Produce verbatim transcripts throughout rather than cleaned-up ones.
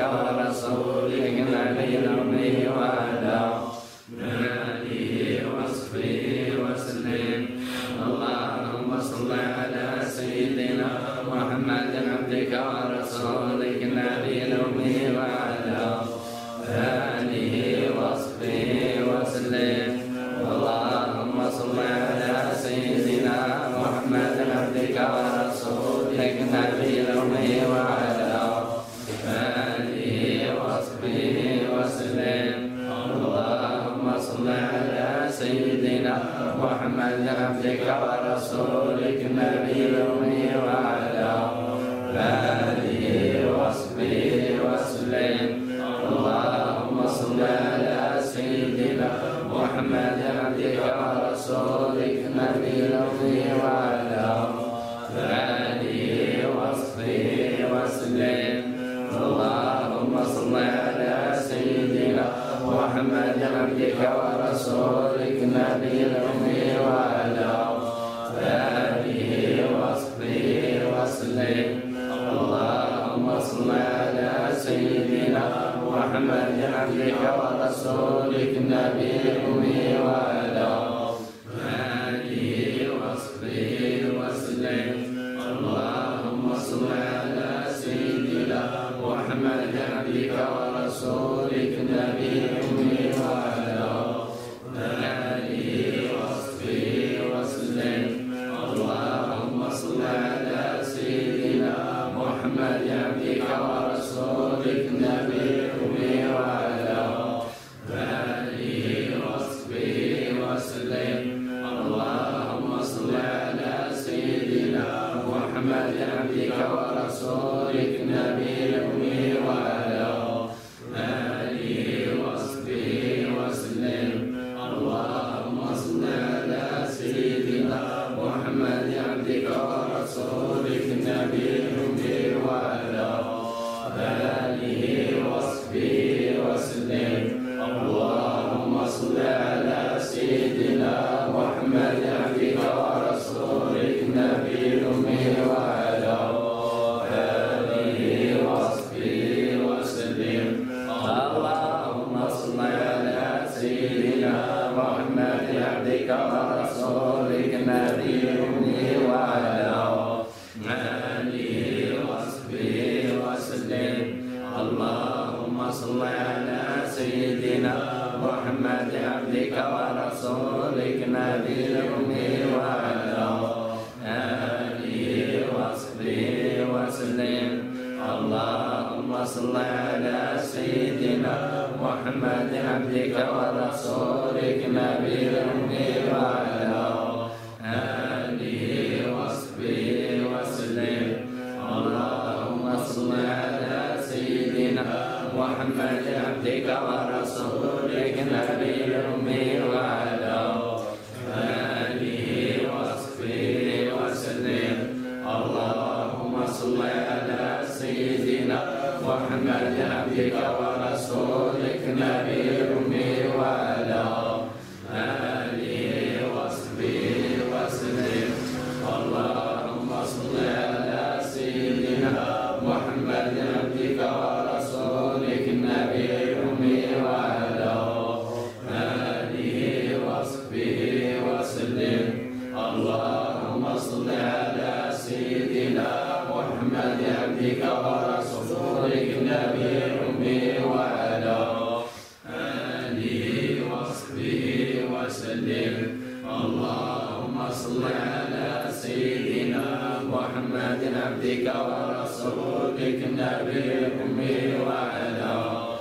ورسولك النبي الأمي وعلى آله وصحبه وسلم. اللهم صل على سيدنا محمد عبدك ورسولك النبي الأمي وعلى آله وصحبه وسلم. اللهم صل على سيدنا محمد عبدك ورسولك النبي الأمي وعلى آله وصحبه وسلم. اللهم صل على سيدنا محمد عبدك ورسولك النبي الأمي وعلى آله وصحبه وسلم. اللهم صل على سيدنا محمد عبدك ورسولك النبي الأمي وعلى آله وصحبه وسلم. اللهم صل على سيدنا محمد عبدك ورسولك النبي الأمي وعلى آله وصحبه وسلم. اللهم صل على سيدنا محمد عبدك ورسولك النبي الأمي وعلى آله وصحبه وسلم. اللهم صل على سيدنا محمد عبدك ورسولك النبي الأمي وعلى آله وصحبه وسلم. اللهم صل على سيدنا محمد عبدك ورسولك النبي الأمي وعلى آله وصحبه وسلم. اللهم صل على سيدنا محمد عبدك ورسولك النبي الأمي وعلى آله وصحبه وسلم. اللهم صل على سيدنا محمد عبدك ورسولك النبي الأمي وعلى آله وصحبه وسلم. اللهم صل على سيدنا محمد عبدك ورسولك النبي الأمي وعلى آله وصحبه وسلم. اللهم صل على سيدنا محمد عبدك ورسولك النبي الأمي وعلى آله وصحبه وسلم. اللهم صل على سيدنا محمد عبدك ورسولك النبي الأمي وعلى آله وصحبه وسلم. اللهم صل على سيدنا محمد عبدك ورسولك النبي الأمي وعلى آله وصحبه وسلم. اللهم صل على سيدنا محمد عبدك ورسولك النبي الأمي وعلى آله وصحبه وسلم. اللهم صل على سيدنا محمد عبدك ورسولك النبي الأمي وعلى آله وصحبه وسلم. اللهم صل على سيدنا محمد عبدك ورسولك النبي الأمي وعلى آله وصحبه وسلم. اللهم صل على سيدنا محمد عبدك ورسولك النبي الأمي وعلى آله وصحبه وسلم. اللهم صل على سيدنا محمد عبدك ورسولك النبي الأمي وعلى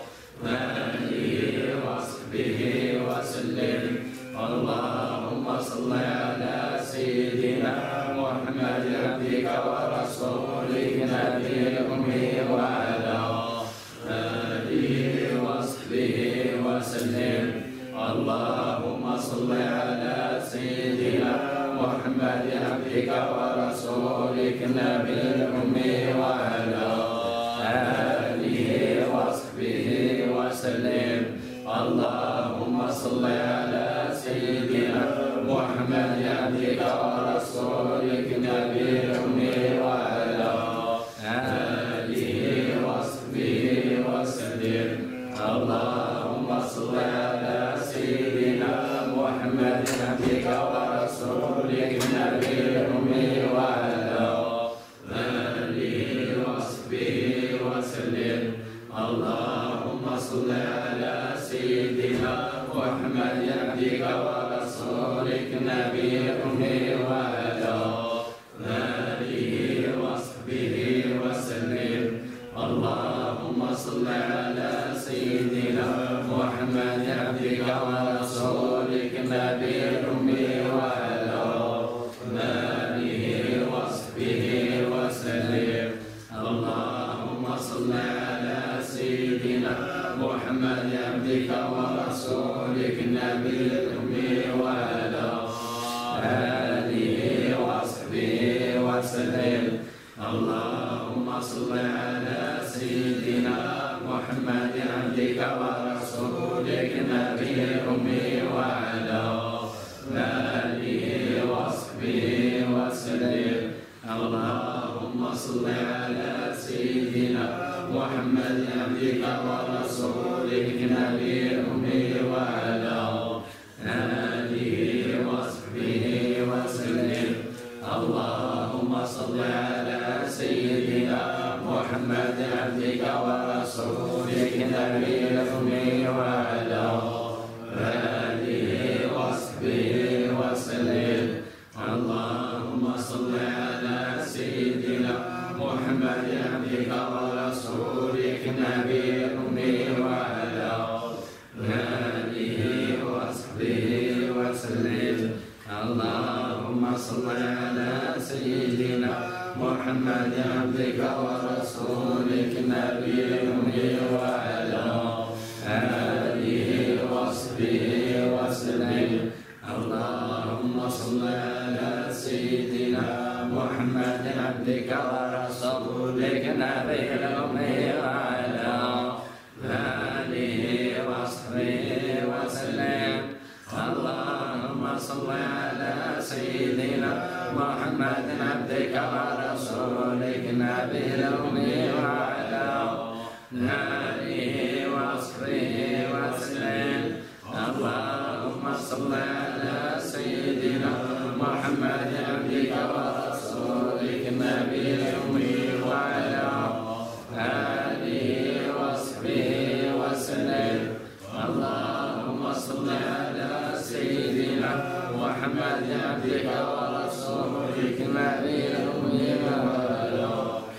آله وصحبه وسلم. اللهم صل على سيدنا محمد عبدك ورسولك النبي الأمي وعلى آله وصحبه وسلم. اللهم صل على سيدنا محمد عبدك ورسولك النبي الأمي وعلى آله وصحبه وسلم. اللهم صل على سيدنا محمد عبدك ورسولك النبي الأمي وعلى آله وصحبه وسلم. ورسولك النبي الأمي وعلى آله وصحبه وسلم. اللهم صل على سيدنا محمد عبدك ورسولك النبي الأمي وعلى آله وصحبه وسلم. اللهم صل على سيدنا محمد عبدك ورسولك النبي الأمي وعلى آله وصحبه وسلم. اللهم صل على سيدنا محمد عبدك ورسولك النبي الأمي وعلى آله وصحبه وسلم. اللهم صل على سيدنا محمد عبدك ورسولك النبي الأمي وعلى آله وصحبه وسلم. اللهم صل على سيدنا محمد عبدك ورسولك النبي الأمي وعلى آله وصحبه وسلم. اللهم صل على سيدنا محمد عبدك ورسولك النبي الأمي وعلى آله وصحبه وسلم. اللهم صل على سيدنا محمد عبدك ورسولك النبي الأمي وعلى آله وصحبه وسلم. اللهم صل على سيدنا محمد عبدك ورسولك النبي الأمي وعلى آله وصحبه وسلم. اللهم صل على سيدنا محمد عبدك ورسولك النبي الأمي وعلى آله وصحبه وسلم. اللهم صل على سيدنا محمد عبدك ورسولك النبي الأمي وعلى آله وصحبه وسلم. اللهم صل على سيدنا محمد عبدك ورسولك النبي الأمي وعلى آله وصحبه وسلم. اللهم صل على سيدنا محمد عبدك ورسولك النبي الأمي وعلى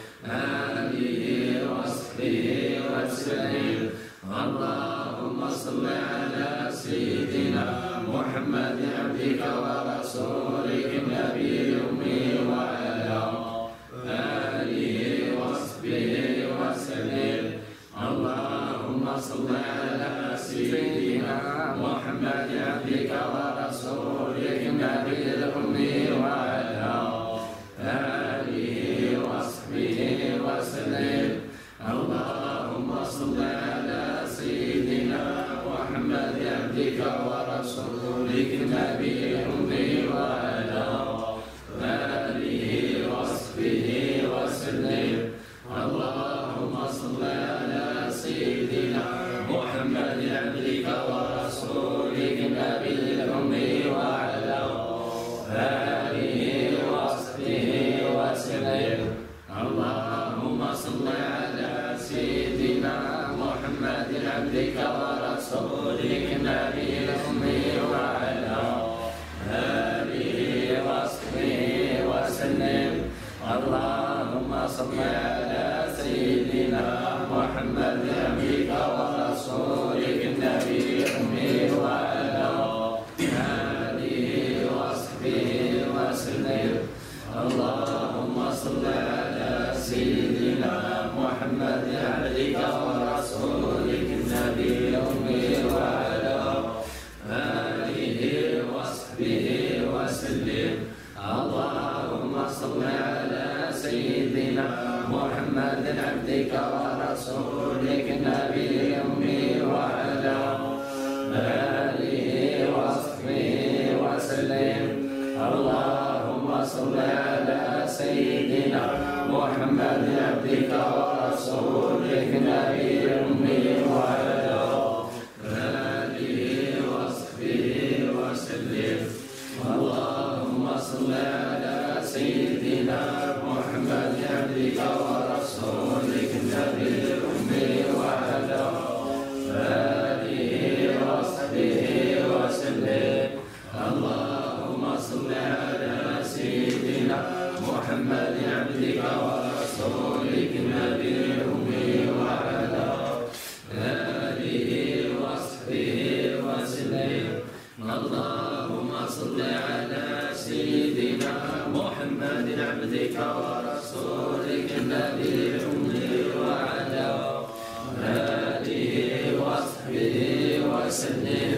آله وصحبه وسلم. اللهم صل على سيدنا محمد عبدك ورسولك النبي الأمي وعلى آله وصحبه وسلم. اللهم صل على سيدنا محمد عبدك ورسولك النبي الأمي وعلى آله وصحبه وسلم. اللهم صل على سيدنا محمد عبدك ورسولك النبي الأمي وعلى آله وصحبه وسلم. اللهم صل على سيدنا محمد عبدك ورسولك النبي الأمي وعلى آله وصحبه وسلم. اللهم صل على سيدنا محمد عبدك ورسولك النبي الأمي وعلى آله وصحبه وسلم. اللهم صل على سيدنا محمد عبدك ورسولك النبي الأمي وعلى آله وصحبه وسلم. اللهم صل على سيدنا محمد عبدك ورسولك النبي الأمي وعلى آله وصحبه وسلم. اللهم صل على سيدنا محمد عبدك ورسولك النبي الأمي وعلى آله وصحبه وسلم. اللهم صل على سيدنا محمد عبدك ورسولك النبي الأمي وعلى آله وصحبه وسلم. اللهم صل على سيدنا محمد عبدك ورسولك النبي الأمي وعلى آله وصحبه وسلم. اللهم صل على سيدنا محمد عبدك ورسولك النبي الأمي وعلى آله وصحبه وسلم. اللهم صل على سيدنا محمد عبدك ورسولك النبي الأمي وعلى آله وصحبه وسلم.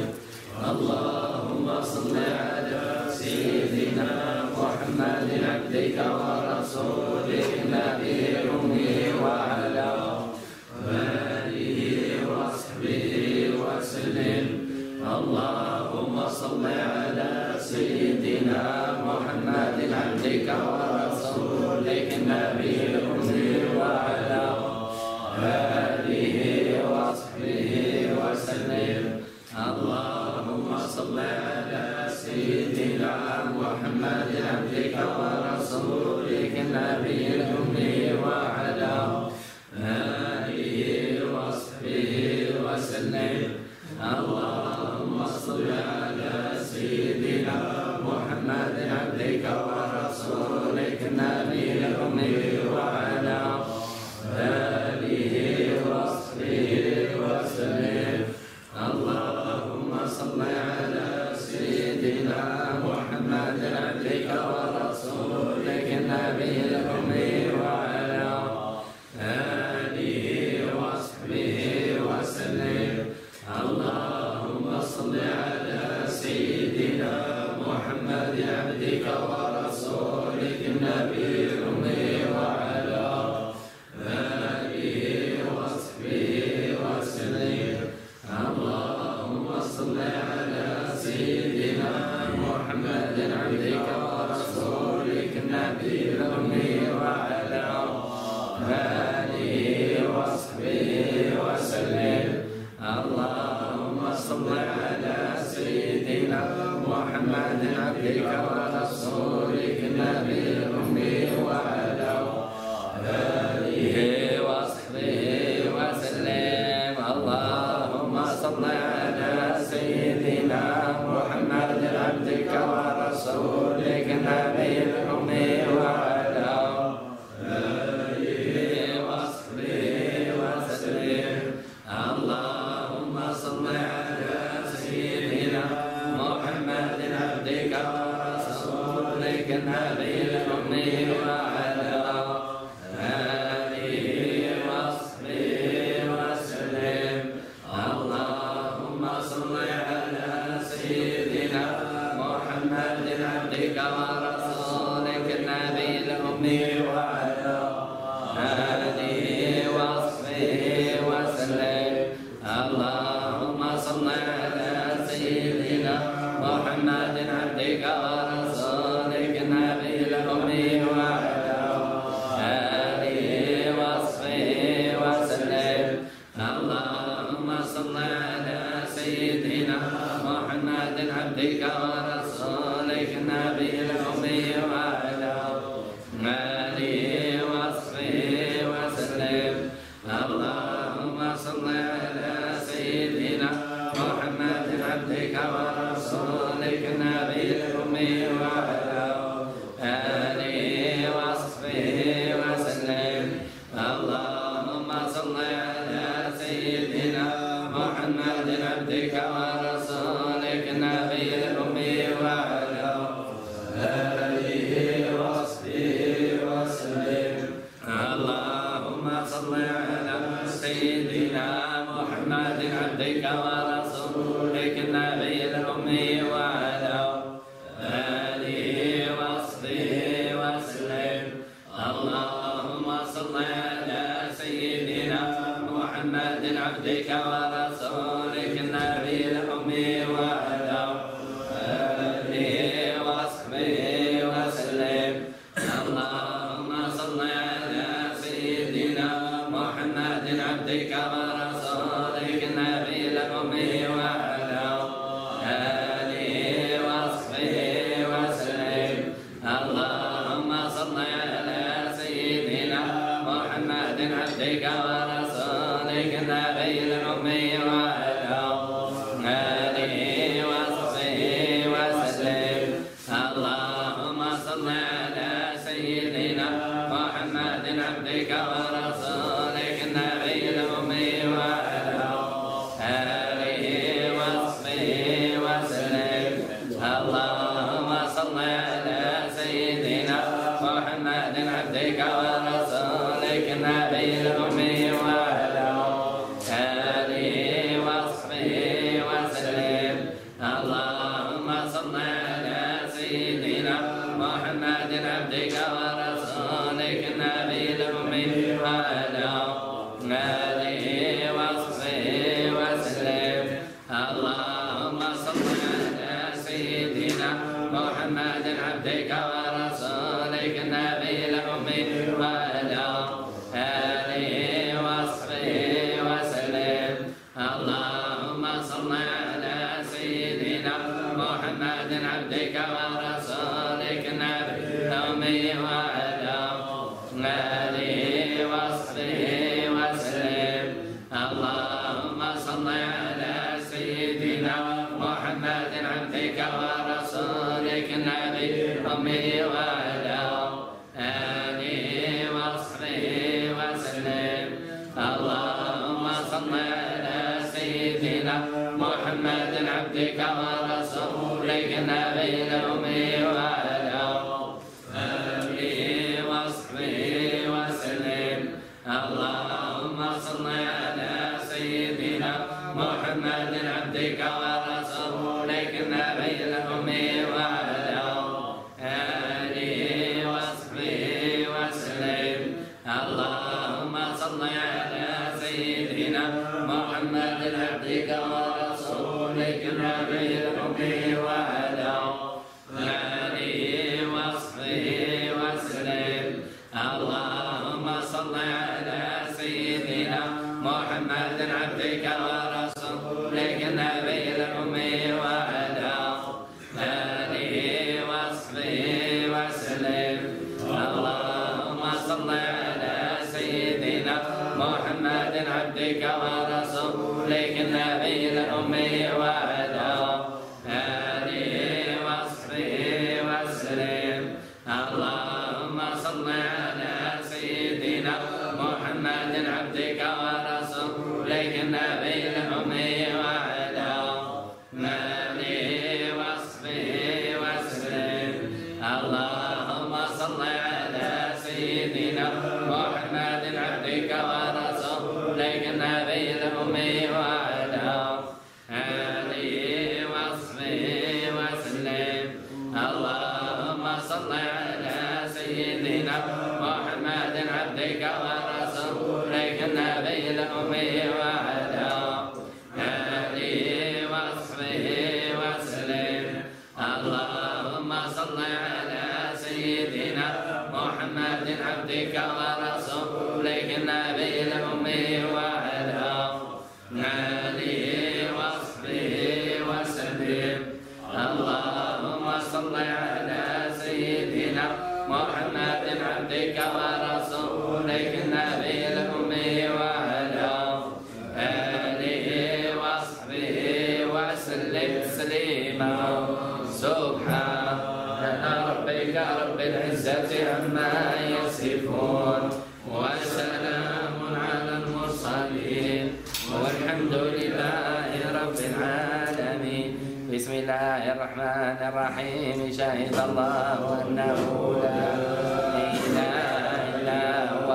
اللهم صل على سيدنا محمد عبدك ورسولك النبي الأمي وعلى آله وصحبه وسلم. اللهم صل على سيدنا محمد عبدك ورسولك النبي الأمي وعلى آله وصحبه وسلم. اللهم صل على سيدنا محمد عبدك ورسولك النبي الأمي وعلى آله وصحبه وسلم. اللهم صل على سيدنا محمد عبدك ورسولك النبي الأمي وعلى آله وصحبه وسلم. اللهم صل على سيدنا محمد عبدك ورسولك النبي الأمي وعلى آله وصحبه وسلم. اللهم صل على سيدنا محمد عبدك ورسولك النبي الأمي وعلى آله وصحبه وسلم. اللهم صل على سيدنا محمد عبدك ورسولك النبي الأمي وعلى آله وصحبه وسلم. اللهم صل على سيدنا محمد عبدك ورسولك النبي الأمي وعلى آله وصحبه وسلم. اللهم صل على سيدنا محمد عبدك ورسولك النبي الأمي وعلى آله وصحبه وسلم. اللهم صل على سيدنا محمد عبدك ورسولك النبي الأمي وعلى آله وصحبه وسلم. اللهم صل على سيدنا محمد عبدك ورسولك النبي الأمي وعلى آله وصحبه وسلم. اللهم صل على سيدنا محمد عبدك ورسولك النبي الأمي وعلى آله وصحبه وسلم. اللهم صل على سيدنا محمد عبدك ورسولك النبي الأمي وعلى آله وصحبه وسلم. اللهم صل على سيدنا محمد عبدك ورسولك النبي الأمي وعلى آله وصحبه وسلم. اللهم صل على سيدنا محمد عبدك ورسولك النبي الأمي وعلى آله وصحبه وسلم. اللهم صل على سيدنا محمد عبدك ورسولك النبي الأمي وعلى آله وصحبه وسلم. اللهم صل على سيدنا محمد عبدك ورسولك النبي الأمي وعلى آله وصحبه وسلم. اللهم صل على سيدنا محمد عبدك ورسولك النبي الأمي وعلى آله وصحبه وسلم. عبدك ورسولك النبي الأمي وعلى آله وصحبه وسلم. اللهم صل على سيدنا محمد عبدك ورسولك النبي الأمي وعلى آله وصحبه وسلم. اللهم صل على سيدنا محمد عبدك ورسولك النبي الأمي وعلى آله وصحبه وسلم. اللهم صل على سيدنا محمد عبدك ورسولك النبي الأمي وعلى آله وصحبه وسلم. اللهم صل على سيدنا محمد عبدك ورسولك النبي الأمي وعلى آله وصحبه وسلم. اللهم صل على سيدنا محمد عبدك ورسولك النبي الأمي وعلى آله وصحبه وسلم. اللهم صل على سيدنا محمد عبدك ورسولك النبي الأمي وعلى آله وصحبه وسلم. اللهم صل على سيدنا محمد عبدك ورسولك النبي الأمي وعلى آله وصحبه وسلم. اللهم صل على سيدنا محمد عبدك ورسولك النبي الأمي وعلى آله وصحبه وسلم. اللهم صل على سيدنا محمد عبدك ورسولك النبي الأمي وعلى آله وصحبه وسلم. اللهم صل على سيدنا محمد عبدك ورسولك النبي الأمي وعلى آله وصحبه وسلم. اللهم صل على سيدنا محمد عبدك ورسولك النبي الأمي وعلى آله وصحبه وسلم. اللهم صل على سيدنا محمد عبدك ورسولك النبي الأمي وعلى آله وصحبه وسلم. اللهم صل على سيدنا محمد عبدك ورسولك النبي الأمي وعلى آله وصحبه وسلم. اللهم صل على سيدنا محمد عبدك ورسولك النبي الأمي وعلى آله وصحبه وسلم. اللهم صل على سيدنا محمد عبدك ورسولك النبي الأمي وعلى آله وصحبه وسلم. اللهم صل على سيدنا محمد عبدك ورسولك النبي الأمي وعلى آله وصحبه وسلم تسليما. سبحان ربك رب العزة عما يصفون وسلام على المرسلين والحمد لله رب العالمين. بسم الله الرحمن الرحيم. شهد الله أنه لا إله إلا هو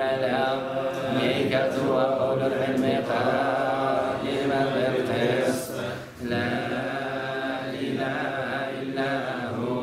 والملائكة وأولو العلم قائما بالقسط. لا إله إلا هو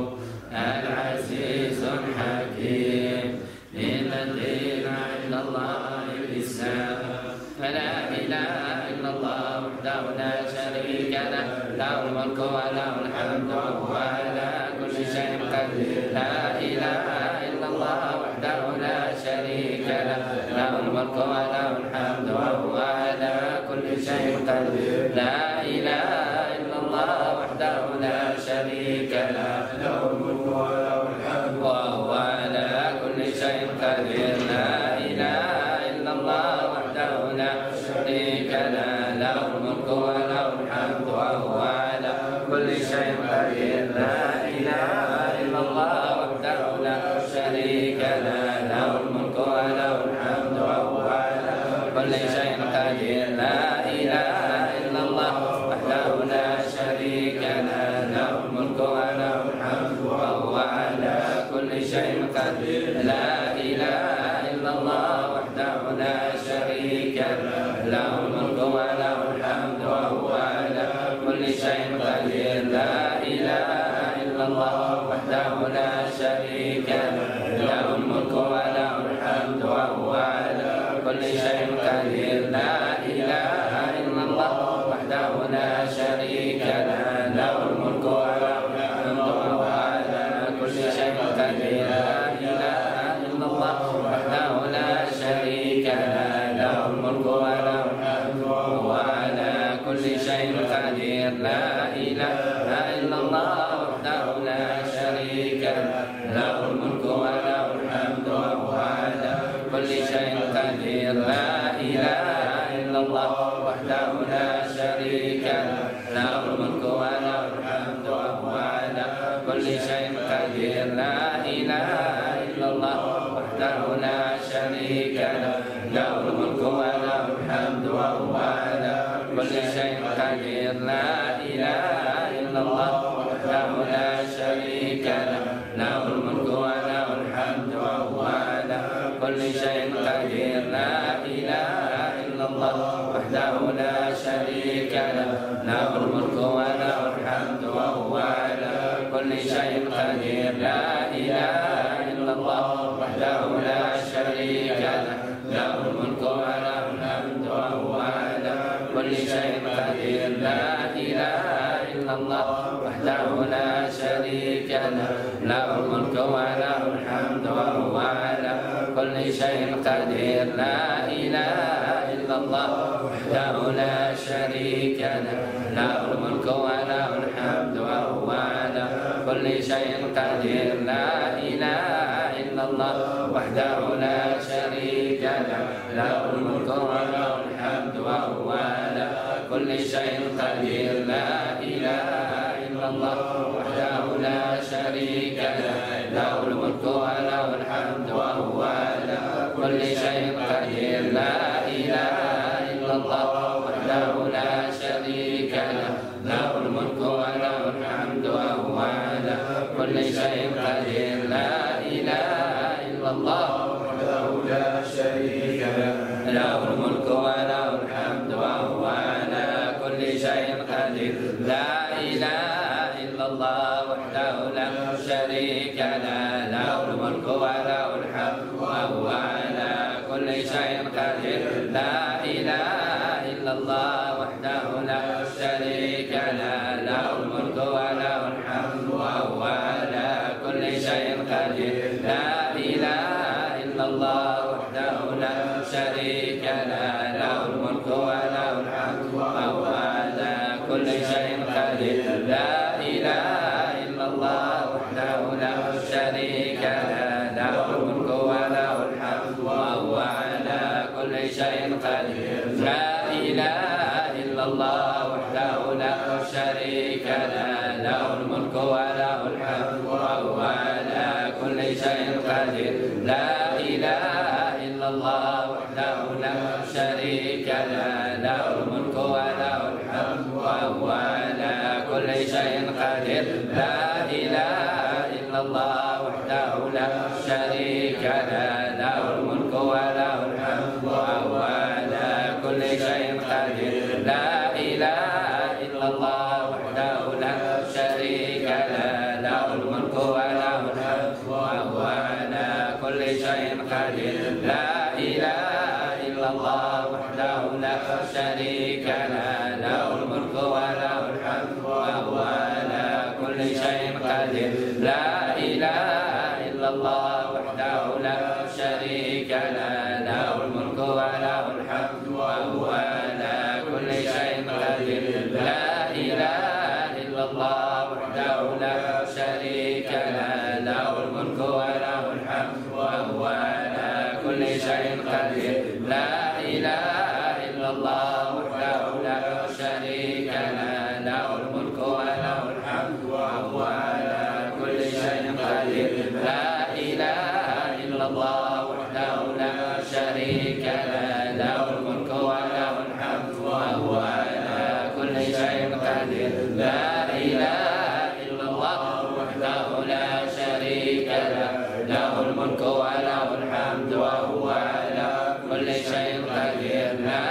العزيز الحكيم. إن الدين عند الله الإسلام. فلا إله إلا الله وحده لا شريك له. له الملك وله الحمد وهو على كل شيء قدير. لا إله إلا الله وحده لا شريك له. له الملك وله الحمد وهو على كل شيء قدير. لا إله إلا الله وحده لا شريك له. له الملك وله الحمد وهو على كل شيء قدير. لا إله إلا الله شيء قدير لا إله إلا الله وحده لا شريك له له الملك وله الحمد وهو على كل شيء قدير لا إله إلا الله وحده لا شريك له له الملك وله الحمد وهو على كل شيء قدير لا إله إلا الله وحده لا شريك له له الملك وله الحمد وهو على كل شيء قدير لا إله إلا الله وحده لا شريك له له الملك وله الحمد وهو على كل شيء قدير لا إله إلا الله وحده لا شريك له له الملك وله الحمد وهو على كل شيء قدير لا إله إلا الله وحده لا شريك له له الملك وله الحمد وهو على كل شيء قدير لا إله إلا الله وحده لا شريك له له الملك وله الحمد وهو على كل شيء قدير لا إله إلا الله وحده لا شريك له له الملك وله الحمد وهو على كل شيء قدير لا إله إلا الله وحده لا شريك له له الملك وله الحمد وهو على كل شيء قدير لا إله إلا الله وحده لا شريك له له الملك وله الحمد وهو على كل شيء قدير لا إله إلا الله وحده لا شريك له له الملك وله الحمد وهو على كل شيء قدير لا إله إلا الله وحده لا شريك له له الملك وله الحمد وهو على كل شيء قدير لا إله إلا الله وحده لا شريك له له الملك وله الحمد وهو على كل شيء قدير لا إله إلا الله وحده لا شريك له له الملك وله الحمد وهو على كل شيء قدير لا إله إلا الله وحده لا شريك له له الملك وله الحمد وهو على كل شيء قدير لا إله إلا الله وحده لا شريك له له الملك وله الحمد وهو على كل شيء قدير لا إله إلا الله وحده لا شريك له له الملك وله الحمد وهو على كل شيء قدير لا إله إلا الله وحده لا شريك له له الملك وله الحمد وهو على كل شيء قدير لا إله إلا الله وحده لا شريك له له الملك وله الحمد وهو على كل شيء قدير لا إله إلا الله وحده لا شريك له له الملك وله الحمد وهو على كل شيء قدير لا إله إلا الله وحده لا شريك له له الملك وله الحمد وهو على كل شيء قدير لا إله إلا الله وحده لا شريك له له الملك وله الحمد وهو على كل شيء قدير لا إله إلا الله وحده لا شريك له له الملك وله الحمد وهو على كل شيء قدير لا إله إلا الله وحده لا شريك له له الملك وله الحمد وهو على كل شيء قدير لا إله إلا الله وحده لا شريك له له الملك وله الحمد وهو على كل شيء قدير لا إله إلا الله وحده لا شريك له له الملك وله الحمد وهو على كل شيء قدير لا إله إلا الله وحده لا شريك له له الملك وله الحمد وهو على كل شيء قدير لا إله إلا الله وحده لا شريك له له الملك وله الحمد وهو على كل شيء قدير لا إله إلا الله وحده لا شريك له له الملك وله الحمد وهو على كل شيء قدير لا إله إلا الله وحده لا شريك له له الملك وله الحمد وهو على كل شيء قدير. لا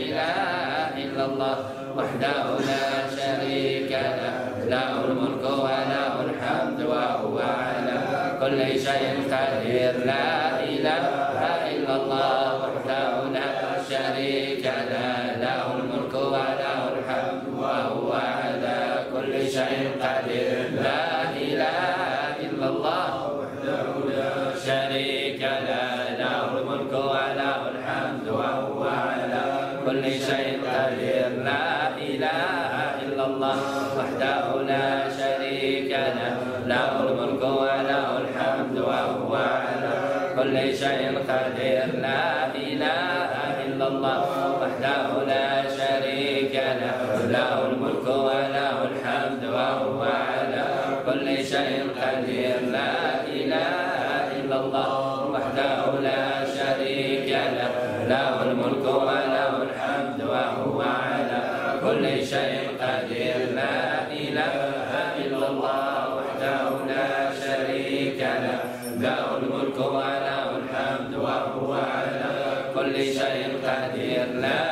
إله إلا الله وحده لا شريك له له الملك وله الحمد وهو على كل شيء قدير. لا إله إلا الله وحده لا شريك له له الملك وله الحمد وهو على كل شيء قدير. لا إله إلا الله وحده لا شريك له له الملك وله الحمد وهو على كل شيء قدير. لا إله إلا الله وحده لا شريك له له الملك وله الحمد وهو على كل شيء قدير. لا إله إلا الله وحده لا شريك له له الملك وله الحمد وهو على كل شيء قدير. لا إله إلا الله وحده لا شريك له له الملك وله الحمد وهو على كل شيء قدير. لا إله إلا الله وحده لا شريك له له الملك وله الحمد وهو على كل شيء قدير. لا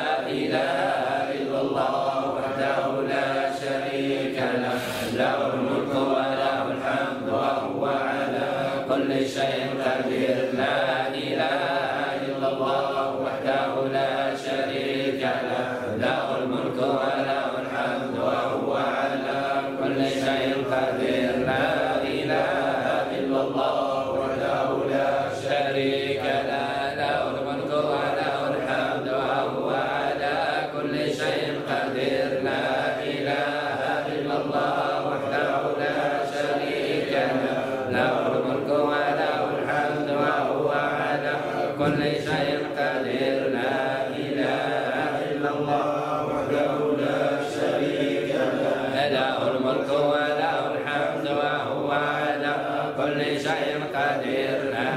إله إلا الله وحده لا شريك له له الملك وله الحمد وهو على كل شيء قدير. لا إله إلا الله وحده لا شريك له له الملك وله الحمد وهو على كل شيء قدير. لا إله إلا الله وحده لا شريك له له الملك وله الحمد وهو على كل شيء قدير. لا إله إلا الله وحده لا شريك له له الملك وله الحمد وهو على كل شيء قدير. لا إله إلا الله وحده لا شريك له له الملك وله الحمد وهو على كل شيء قدير. لا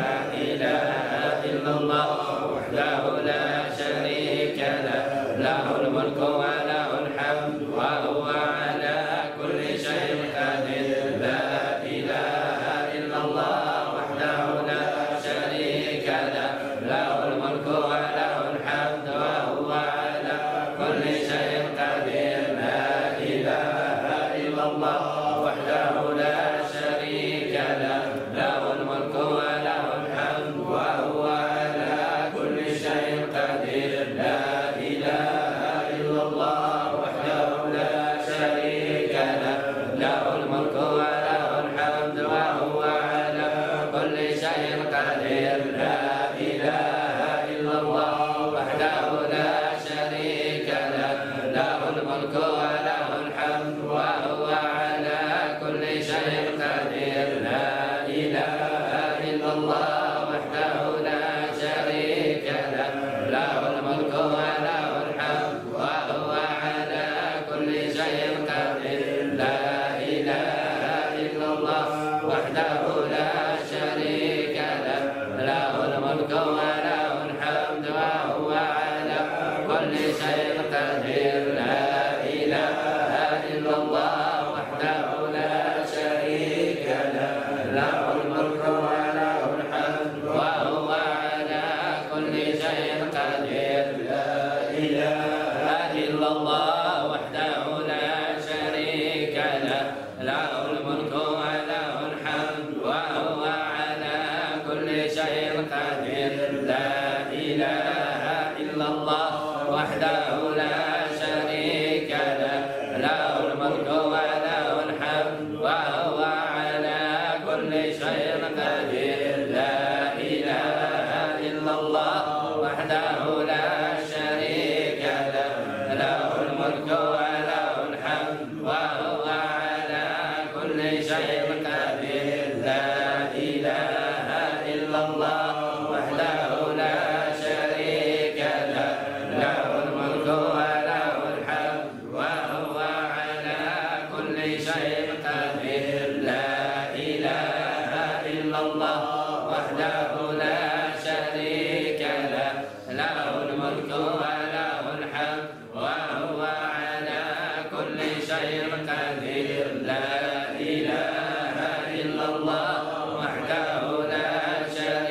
إله إلا الله وحده لا شريك له له الملك وله الحمد وهو على كل شيء قدير. لا إله إلا الله وحده لا شريك له له الملك وله الحمد وهو على كل شيء قدير. لا إله إلا الله وحده لا شريك له له الملك وله الحمد وهو على كل شيء قدير. لا إله إلا الله وحده لا شريك له له الملك وله الحمد وهو على كل شيء قدير. لا إله إلا الله وحده لا شريك له له الملك وله الحمد وهو على كل شيء قدير. لا إله إلا الله وحده لا شريك له له الملك وله الحمد وهو على كل شيء قدير. لا إله إلا الله وحده لا شريك له له الملك وله الحمد وهو على كل شيء قدير. لا إله إلا الله وحده لا شريك له له الملك وله الحمد وهو على كل شيء قدير. لا إله إلا الله وحده لا شريك له له الملك وله الحمد وهو على كل شيء قدير. لا إله إلا الله وحده لا شريك له له الملك وله الحمد وهو على كل شيء قدير. لا إله إلا الله وحده لا شريك له له الملك وله الحمد وهو على كل شيء قدير. لا إله إلا الله وحده لا شريك له له الملك وله الحمد وهو على كل شيء قدير. لا إله إلا الله وحده لا شريك له له الملك وله الحمد وهو على كل شيء قدير. لا إله إلا الله وحده لا شريك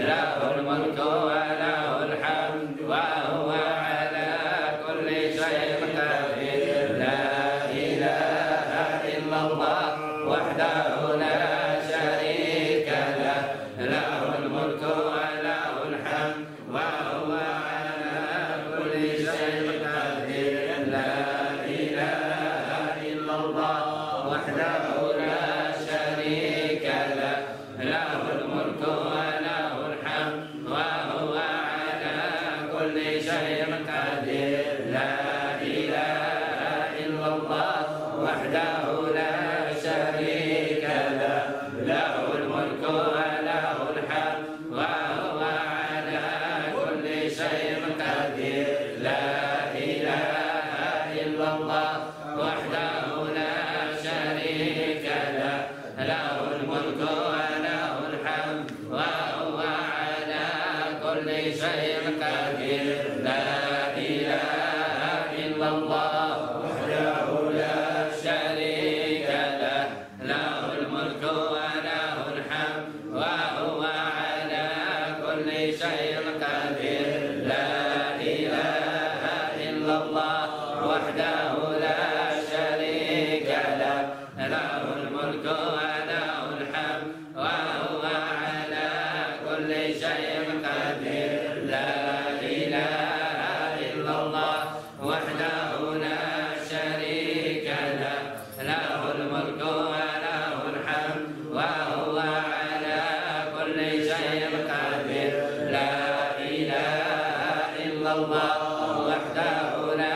له الملك وله الحمد وهو على كل شيء قدير لا إله إلا الله وحده لا شريك له له الملك وله الحمد وهو على كل شيء قدير لا إله إلا الله وحده لا شريك له له الملك وله الحمد وهو على كل شيء قدير لا إله إلا الله وحده لا شريك له له الملك وله الحمد وهو على كل شيء قدير لا إله إلا الله وحده لا شريك له له الملك وله الحمد وهو على كل شيء قدير لا إله إلا الله وحده لا شريك له له الملك وله الحمد وهو على كل شيء قدير لا إله إلا الله وحده لا شريك له له الملك وله الحمد وهو على كل شيء قدير لا إله إلا الله وحده لا شريك له له الملك وله الحمد وهو على كل شيء قدير لا إله إلا الله وحده لا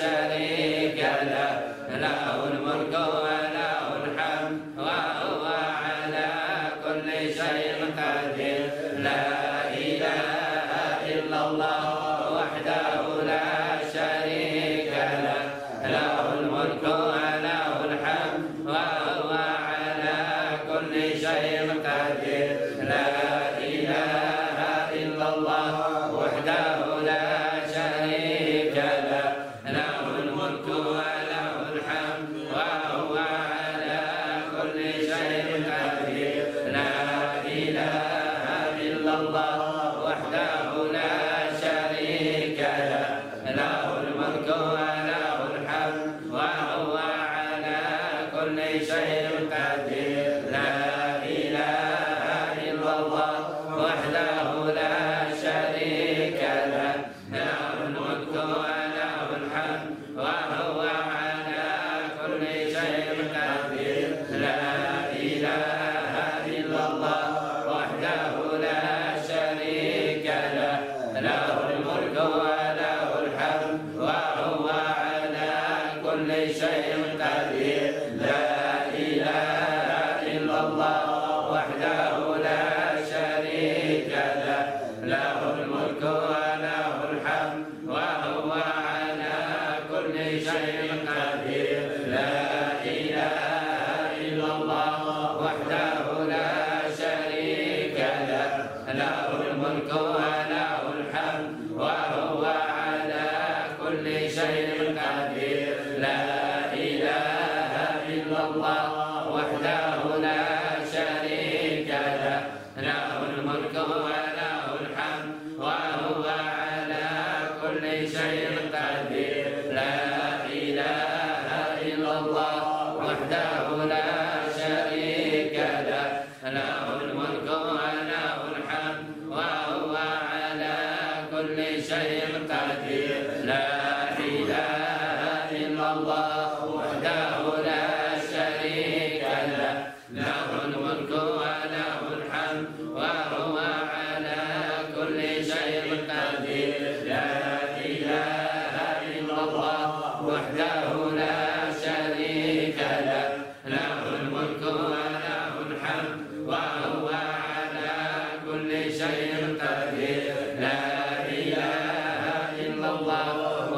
شريك له له الملك وله الحمد وهو على كل شيء قدير لا إله إلا الله وحده لا شريك له له الملك وله الحمد وهو على كل شيء قدير لا إله إلا الله وحده لا شريك له له الملك وله الحمد وهو على كل شيء قدير لا إله إلا الله وحده لا شريك له له الملك وله الحمد وهو على كل شيء قدير لا إله إلا الله وحده لا شريك له له الملك وله الحمد وهو على كل شيء قدير لا إله إلا الله وحده لا شريك له له الملك وله الحمد وهو على كل شيء قدير لا إله إلا الله وحده لا شريك له له الملك وله الحمد وهو على كل شيء قدير لا إله إلا الله وحده لا شريك له له الملك وله الحمد وهو على كل شيء قدير لا إله إلا الله وحده لا شريك له له الملك وله الحمد وهو على كل شيء قدير لا إله إلا الله وحده لا شريك له له الملك وله الحمد وهو على كل شيء قدير لا إله إلا الله وحده لا شريك له له الملك وله الحمد وهو على كل شيء قدير لا إله إلا الله وحده لا شريك له له الملك وله الحمد وهو على كل شيء قدير لا إله إلا الله